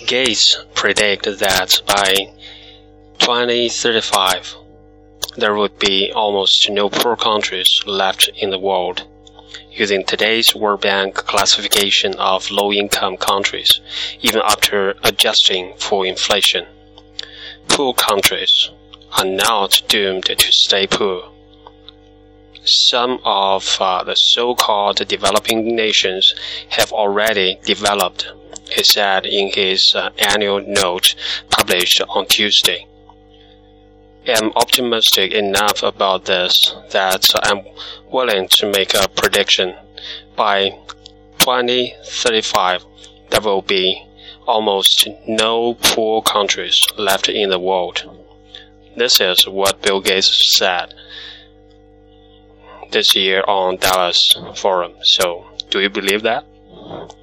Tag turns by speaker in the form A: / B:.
A: Gates predicted that by 2035, there would be almost no poor countries left in the world. Using today's World Bank classification of low-income countries, even after adjusting for inflation, poor countries are not doomed to stay poor. Some of the so-called developing nations have already developed, he said in his annual note published on Tuesday. I'm optimistic enough about this that I'm willing to make a prediction. By 2035, there will be almost no poor countries left in the world. This is what Bill Gates said this year on Davos Forum. So, do you believe that?